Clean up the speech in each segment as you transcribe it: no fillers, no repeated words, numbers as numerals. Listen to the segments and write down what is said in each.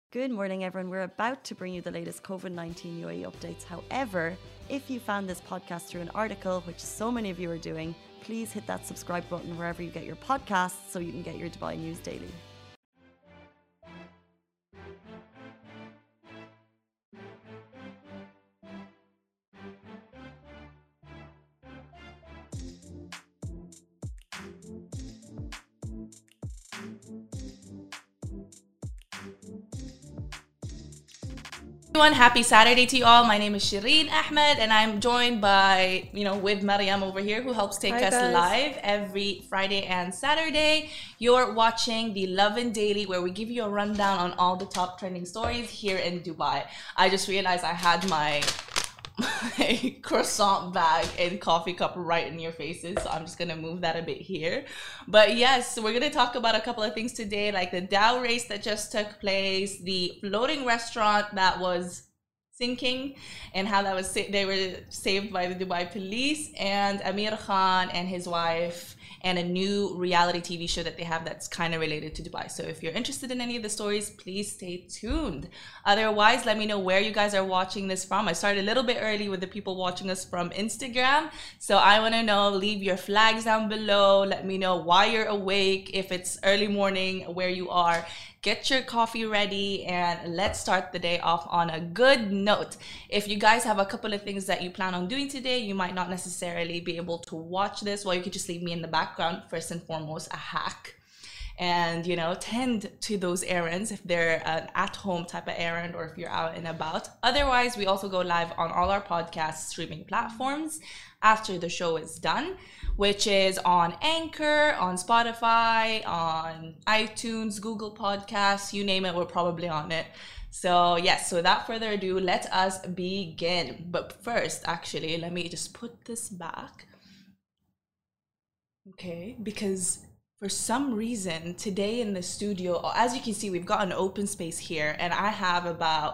Good morning, everyone. We're about to bring you the latest COVID-19 UAE updates. However, if you found this podcast through an article, which so many of you are doing, please hit that subscribe button wherever you get your podcasts so you can get your Dubai news daily. Everyone, happy Saturday to you all. My name is Shireen Ahmed and I'm joined by, with Mariam over here who helps take us live every Friday and Saturday. You're watching the Lovin Daily where we give you a rundown on all the top trending stories here in Dubai. I just realized I had my croissant bag and coffee cup right in your faces, so I'm just gonna move that a bit here. But yes, we're gonna talk about a couple of things today, like the Dow race that just took place, the floating restaurant that was sinking and how that was they were saved by the Dubai police, and Amir Khan and his wife, and a new reality TV show that they have that's kind of related to Dubai. So if you're interested in any of the stories, please stay tuned. Otherwise, let me know where you guys are watching this from. I started a little bit early with the people watching us from Instagram. So I want to know, leave your flags down below. Let me know why you're awake. If it's early morning, where you are. Get your coffee ready and let's start the day off on a good note. If you guys have a couple of things that you plan on doing today, you might not necessarily be able to watch this. Well, you could just leave me in the background. First and foremost, a hack. And, tend to those errands if they're an at-home type of errand or if you're out and about. Otherwise, we also go live on all our podcast streaming platforms after the show is done, which is on Anchor, on Spotify, on iTunes, Google Podcasts, you name it, we're probably on it. So yes, so without further ado, let us begin. But first, actually, let me just put this back. Okay, because for some reason today in the studio, as you can see, we've got an open space here and I have about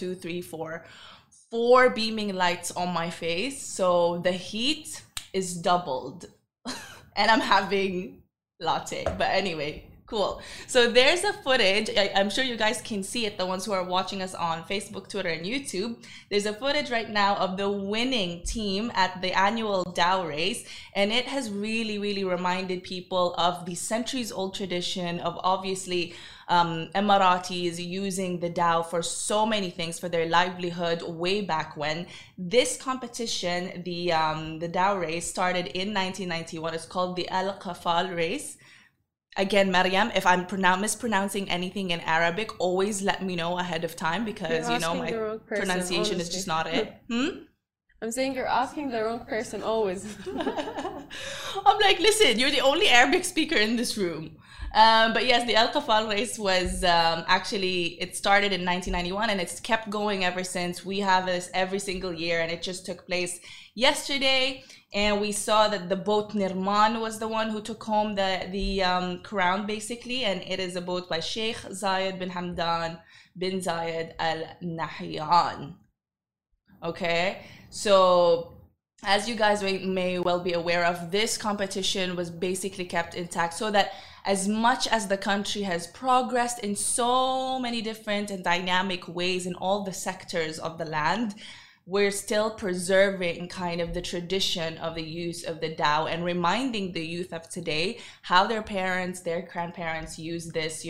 4 beaming lights on my face. So the heat is doubled and I'm having latte. But anyway, cool. So there's a footage. I'm sure you guys can see it, the ones who are watching us on Facebook, Twitter, and YouTube. There's a footage right now of the winning team at the annual Dow race. And it has really, really reminded people of the centuries-old tradition of obviously Emiratis using the Dow for so many things for their livelihood way back when. This competition, the Dow race, started in 1991. It's called the Al Qafal race. Again, Mariam, if I'm mispronouncing anything in Arabic, always let me know ahead of time because, my pronunciation is just not it. I'm saying you're asking the wrong person always. I'm like, listen, you're the only Arabic speaker in this room. But yes, the Al Qafal race was actually, it started in 1991 and it's kept going ever since. We have this every single year and it just took place yesterday. And we saw that the boat Nirman was the one who took home the crown basically. And it is a boat by Sheikh Zayed bin Hamdan bin Zayed Al Nahyan. Okay, so as you guys may well be aware of, this competition was basically kept intact so that as much as the country has progressed in so many different and dynamic ways in all the sectors of the land, we're still preserving kind of the tradition of the use of the Dow and reminding the youth of today how their parents, their grandparents use this,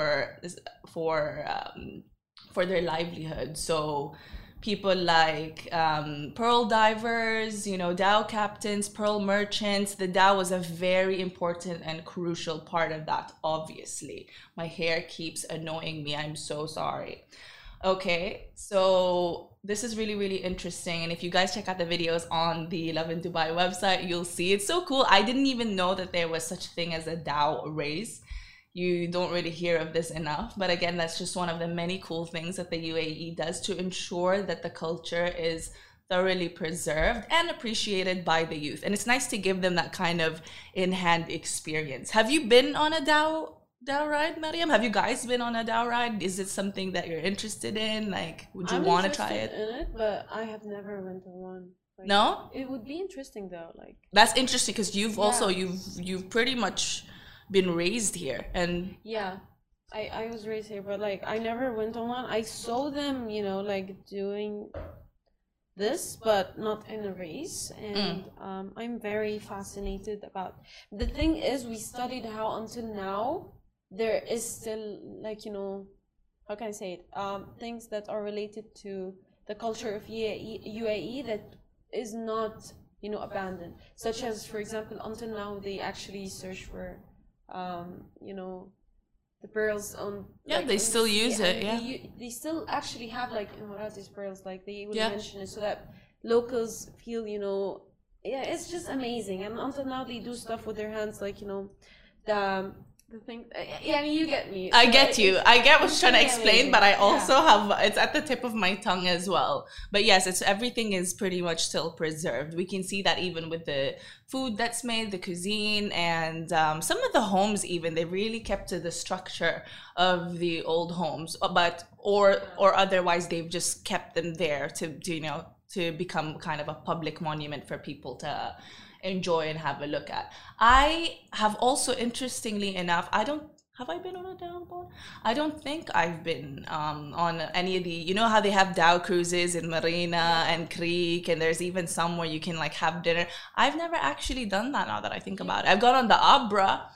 for their livelihood. So people like pearl divers, Dow captains, pearl merchants. The Dow was a very important and crucial part of that, obviously. My hair keeps annoying me. I'm so sorry. Okay, so this is really, really interesting. And if you guys check out the videos on the Lovin Dubai website, you'll see it's so cool. I didn't even know that there was such a thing as a Dow race. You don't really hear of this enough. But again, that's just one of the many cool things that the UAE does to ensure that the culture is thoroughly preserved and appreciated by the youth. And it's nice to give them that kind of in-hand experience. Have you been on a Dow ride, Mariam? Have you guys been on a Dow ride? Is it something that you're interested in? Like, would you want to try it? I'm interested in it, but I have never went to one. Like, no? It would be interesting though. Like, that's interesting because you've also you've pretty much been raised here, and yeah, I was raised here, but like I never went on one. I saw them, you know, like doing this, but not in a race. And I'm very fascinated about. The thing is, we studied how until now there is still like, you know, how can I say it? Things that are related to the culture of UAE that is not, you know, abandoned. Such as, for example, until now they actually search for, you know, the pearls on. Yeah, like, they still use it. Yeah, they still actually have like Emiratis pearls. Like they will Yeah. mention it so that locals feel, you know, yeah, it's just amazing. And until now they do stuff with their hands, like, you know, the thing. Yeah, I mean, you get me. I So get you. I get what it's you're trying to really explain, amazing. but I Yeah. also have it's at the tip of my tongue as well. But yes, it's everything is pretty much still preserved. We can see that even with the food that's made, the cuisine, and some of the homes. Even they really kept to the structure of the old homes, but or otherwise they've just kept them there to you know to become kind of a public monument for people to enjoy and have a look at. I have also, interestingly enough, have I been on a Dow boat? I don't think I've been on any of the, you know how they have Dow cruises in Marina and Creek, and there's even some where you can like have dinner. I've never actually done that now that I think about it. I've gone on the Abra.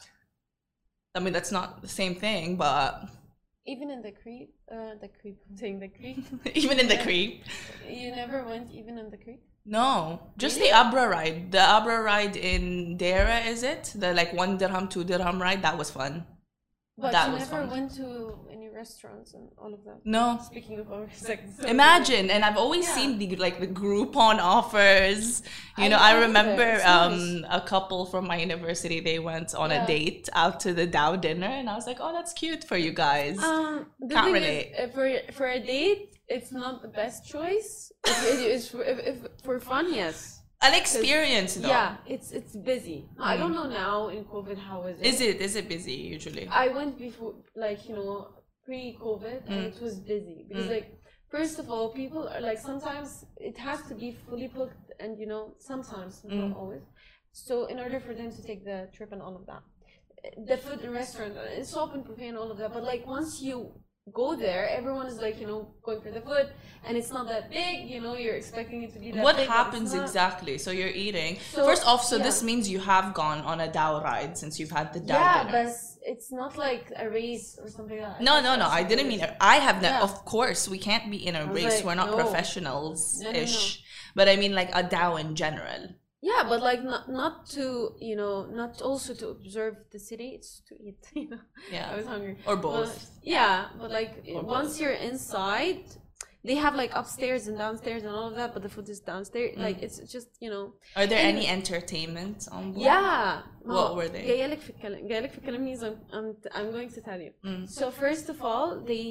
I mean, that's not the same thing, but Even in the creek, I'm saying the creek. even in the Creek. You never went even in the creek? No, just Really? the Abra ride. The Abra ride in Dera, is it? The like 1 dirham, 2 dirham ride. That was fun. But That you was never fun. went to any restaurants and all of that? No. Speaking of our seconds. Imagine, and I've always Yeah. seen the like the Groupon offers. You know, I I remember, remember it's nice. a couple from my university. They went on a Yeah. date out to the Dow dinner, and I was like, "Oh, that's cute for you guys." The Can't thing relate. is, for a date, it's not the best choice. It's if for fun, yes. An experience, though. Yeah, it's busy. I don't know now in COVID how is it. Is it busy usually? I went before, like, you know, pre-COVID, and it was busy because, like, first of all, people are like, sometimes it has to be fully booked, and you know, sometimes, not always. So in order for them to take the trip and all of that, the food in restaurant, it's open buffet and all of that. But like once you go there, everyone is like, you know, going for the food, and it's not that big. You know, you're expecting it to be that What big. but it's happens not. exactly? So you're eating. So, First off, so yeah. this means you have gone on a Dow ride since you've had the Dow Yeah, dinner. but it's not like a race or something like that. No, no, no. I didn't mean. I have not. Yeah. Of course, we can't be in a was race. like, We're not no. professionals-ish. No. But I mean, like a Dow in general. Yeah, but like not to, you know, not also to observe the city. It's to eat. You know, Yeah. I was hungry. Or But, both. yeah, but like Or once both. you're inside, they have like upstairs and downstairs and all of that. But the food is downstairs. Like it's just, you know. Are there And- any entertainment on board? Yeah. What were they? جايلك في الكلام means I'm going to tell you. So first of all,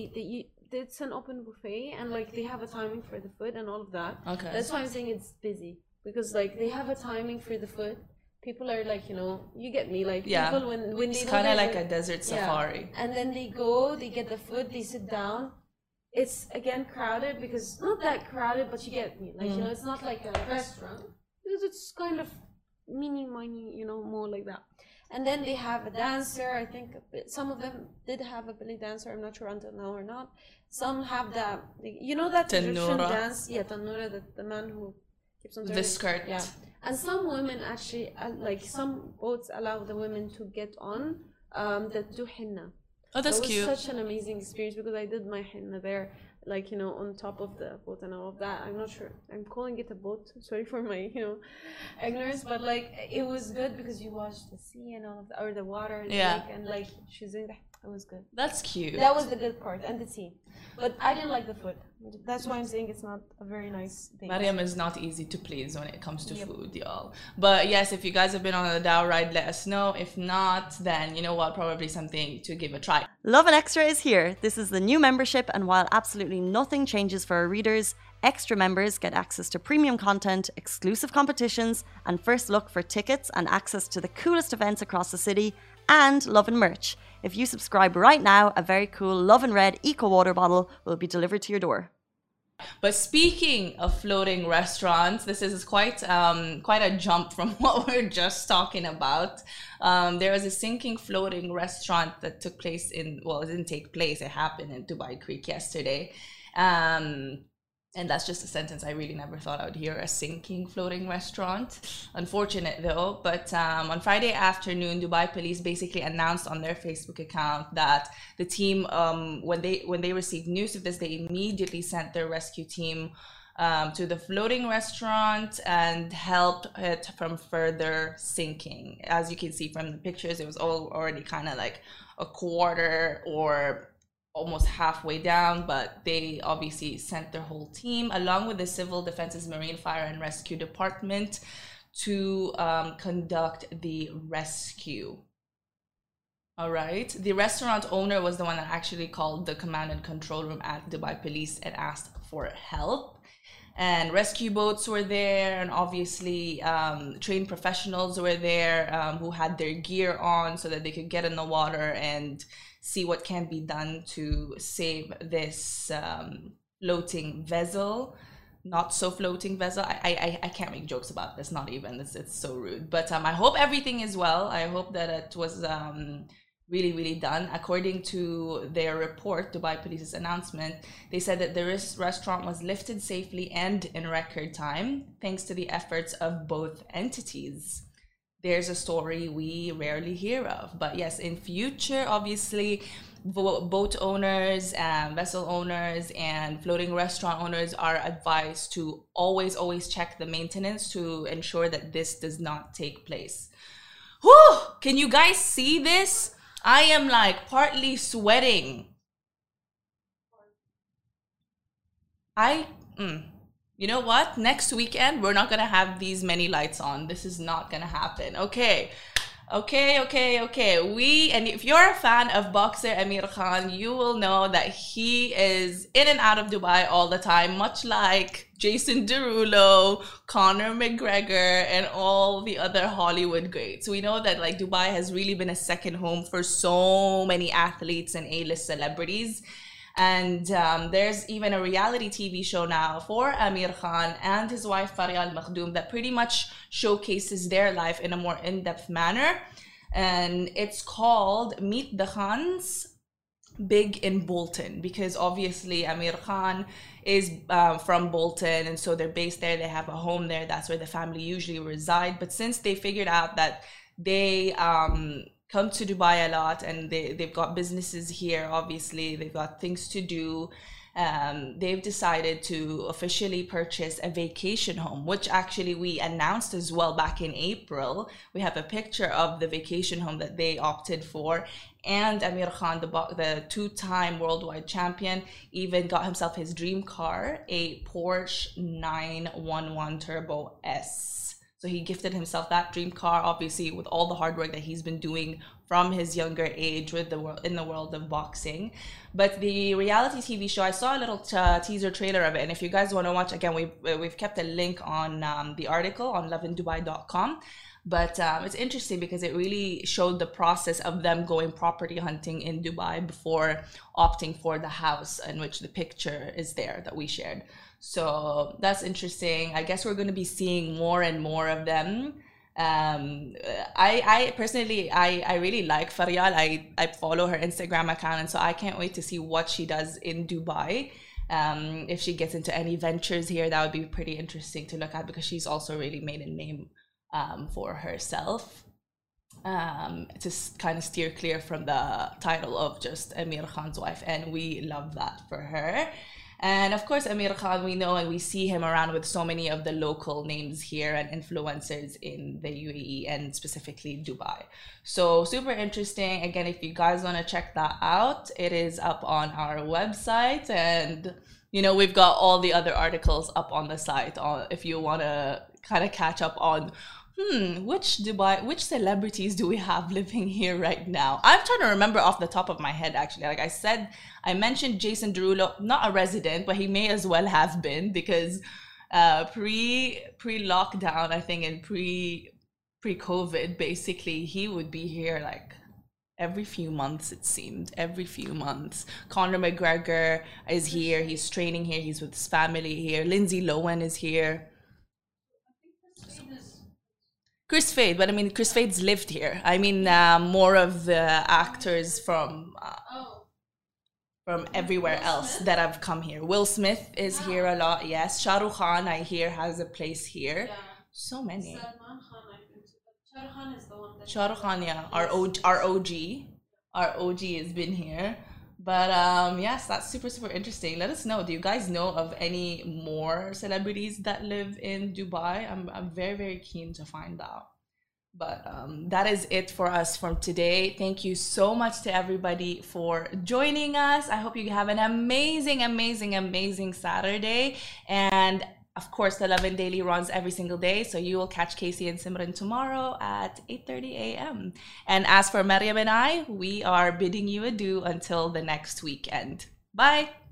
it's an open buffet, and like they have a timing for the food and all of that. Okay. That's why I'm saying it's busy, because like they have a timing for the food. People are like, you know, you get me, like Yeah. people when they It's know kind of there's like a desert safari. and then they go, they get the food, they sit down. It's again crowded, because not that crowded, but you get me, like you know, it's not like a restaurant, because it's kind of mini, you know, more like that. And then they have a dancer. I think some of them did have a belly dancer. I'm not sure until now or not. Some have that, you know, that Egyptian Tannura. dance. Yeah, Tannura, the man who keeps on The turning. skirt. Yeah. And some women actually, like some boats allow the women to get on that do henna. Oh, that's It was cute. such an amazing experience, because I did my henna there, like, you know, on top of the boat and all of that. I'm not sure. I'm calling it a boat. Sorry for my, you know, ignorance, but like it was good because you watch the sea and all of that, or the water and the Yeah. lake, and like she's doing that. It was good. That's cute. That was the good part, and the tea. But I didn't like the food. That's why I'm saying it's not a very nice thing. Mariam is not easy to please when it comes to food, y'all. But yes, if you guys have been on a Dow ride, let us know. If not, then you know what? Probably something to give a try. Lovin Extra is here. This is the new membership, and while absolutely nothing changes for our readers, extra members get access to premium content, exclusive competitions, and first look for tickets and access to the coolest events across the city, and Lovin merch. If you subscribe right now, a very cool Lovin Red Eco Water bottle will be delivered to your door. But speaking of floating restaurants, this is quite a jump from what we're just talking about. There was a sinking floating restaurant that took place it didn't take place, it happened in Dubai Creek yesterday. And that's just a sentence I really never thought I would hear, a sinking floating restaurant. Unfortunate though, but on Friday afternoon, Dubai police basically announced on their Facebook account that the team, when they received news of this, they immediately sent their rescue team to the floating restaurant and helped it from further sinking. As you can see from the pictures, it was already kind of like a quarter or almost halfway down, but they obviously sent their whole team along with the Civil Defense's Marine Fire and Rescue Department to conduct the rescue. All right. The restaurant owner was the one that actually called the command and control room at Dubai Police and asked for help. And rescue boats were there, and obviously trained professionals were there who had their gear on so that they could get in the water and see what can be done to save this floating vessel. Not so floating vessel. I can't make jokes about this, not even. It's so rude. But I hope everything is well. I hope that it was really, really done. According to their report, Dubai Police's announcement, they said that the restaurant was lifted safely and in record time, thanks to the efforts of both entities. There's a story we rarely hear of. But yes, in future, obviously, boat owners, vessel owners, and floating restaurant owners are advised to always check the maintenance to ensure that this does not take place. Whew! Can you guys see this? I am like partly sweating. You know what? Next weekend, we're not going to have these many lights on. This is not going to happen. Okay. And if you're a fan of boxer Amir Khan, you will know that he is in and out of Dubai all the time, much like Jason Derulo, Conor McGregor, and all the other Hollywood greats. We know that like Dubai has really been a second home for so many athletes and A-list celebrities. And there's even a reality TV show now for Amir Khan and his wife Faria Al Makhdoom that pretty much showcases their life in a more in-depth manner. And it's called Meet the Khans Big in Bolton, because obviously Amir Khan is from Bolton, and so they're based there. They have a home there. That's where the family usually reside. But since they figured out that they come to Dubai a lot and they've got businesses here, obviously they've got things to do, they've decided to officially purchase a vacation home, which actually we announced as well back in April. We have a picture of the vacation home that they opted for, and Amir Khan, the two-time worldwide champion, even got himself his dream car, a Porsche 911 Turbo S. So he gifted himself that dream car, obviously with all the hard work that he's been doing from his younger age in the world of boxing. But the reality TV show, I saw a little teaser trailer of it, and if you guys want to watch, again, we've kept a link on the article on lovindubai.com. But it's interesting because it really showed the process of them going property hunting in Dubai before opting for the house, in which the picture is there that we shared. So that's interesting. I guess we're going to be seeing more and more of them. I personally, I really like Faryal. I follow her Instagram account, and so I can't wait to see what she does in Dubai. If she gets into any ventures here, that would be pretty interesting to look at, because she's also really made a name for herself, to kind of steer clear from the title of just Amir Khan's wife, and we love that for her. And of course, Amir Khan, we know and we see him around with so many of the local names here and influencers in the UAE and specifically Dubai. So super interesting. Again, if you guys want to check that out, it is up on our website, and you know, we've got all the other articles up on the site if you want to kind of catch up on which celebrities do we have living here right now? I'm trying to remember off the top of my head, actually. Like I said, I mentioned Jason Derulo, not a resident, but he may as well have been, because pre-lockdown, I think, and pre-COVID, basically, he would be here like every few months, it seemed. Every few months. Conor McGregor is here. He's training here. He's with his family here. Lindsay Lohan is here. Chris Fade, but I mean, Chris Fade's lived here. I mean, more of the actors from everywhere else that have come here. Will Smith is here a lot, yes. Shah Rukh Khan, I hear, has a place here. Yeah. So many. Shah Rukh Khan is the one that... Shah Rukh Khan, yeah. Our OG has been here. But yes, that's super, super interesting. Let us know. Do you guys know of any more celebrities that live in Dubai? I'm very, very keen to find out. But that is it for us from today. Thank you so much to everybody for joining us. I hope you have an amazing, amazing, amazing Saturday. And of course, the Lovin Daily runs every single day. So you will catch Casey and Simran tomorrow at 8:30 a.m. And as for Mariam and I, we are bidding you adieu until the next weekend. Bye.